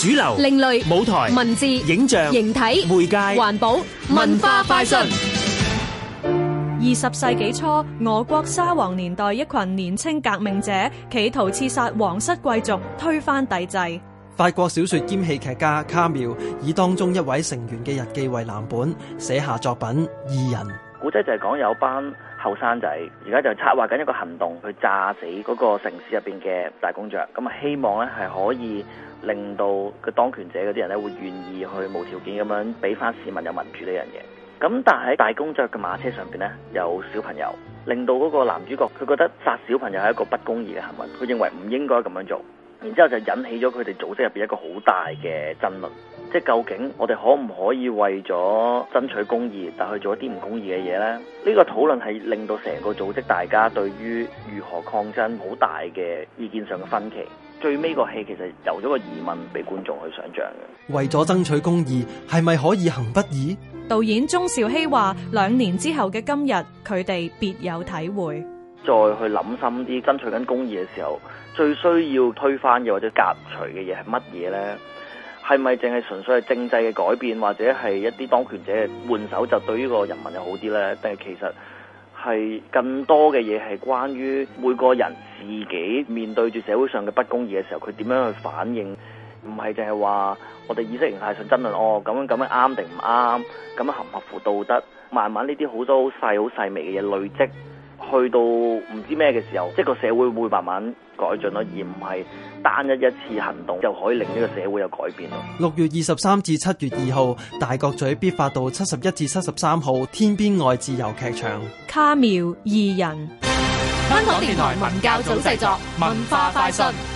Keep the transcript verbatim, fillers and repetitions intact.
主流、 另類舞台、 文字、 影像、 形體、 媒介、 環保、文化快訊。 二十世紀初，俄國沙皇年代，一群年輕革命者企圖刺殺皇室貴族，推翻帝制。 法國小說兼戲劇家卡繆以當中一位成員嘅日記為藍本，寫下作品《異人》。 古仔就係講有班後生仔，而家就策劃緊一個行動，去炸死嗰個城市入邊嘅大公爵。咁啊，希望咧係可以令到個當權者嗰啲人咧會願意去無條件咁樣俾翻市民有民主呢樣嘢。咁但係喺大公爵嘅馬車上邊咧有小朋友，令到嗰個男主角佢覺得殺小朋友係一個不公義嘅行為，佢認為唔應該咁樣做。然之後就引起咗佢哋組織入邊一個好大嘅爭論，即係究竟我哋可唔可以為咗爭取公義，但去做一啲唔公義嘅嘢呢？呢、呢個討論係令到成個組織大家對於如何抗爭好大嘅意見上嘅分歧。最尾個戲其實由咗個疑問俾觀眾去想像嘅。 為咗爭取公義，係咪可以行不義？ 導演鐘兆熙話：兩年之後嘅今日，佢哋別有體會。 再去諗深啲，爭取緊公義嘅時候，最需要推翻嘅或者革除嘅嘢係乜嘢呢？係咪淨係純粹係政制嘅改變，或者係一啲當權者換手就對呢個人民又好啲呢？定係其實係更多嘅嘢係關於每個人自己面對住社會上嘅不公義嘅時候，佢點樣去反應？唔係淨係話我哋意識形態上爭論，哦咁樣咁樣啱定唔啱，咁樣合唔合乎道德？慢慢呢啲好多好細好細微嘅嘢累積。去到唔知咩嘅時候，即係個社會會慢慢改進咯，而唔係單一一次行動就可以令呢個社會有改變咯。 六月二十三至七月二號，大角咀必發道七十一至七十三號天邊愛自由劇場。 卡繆異人， 香港電台文教組製作，文化快訊。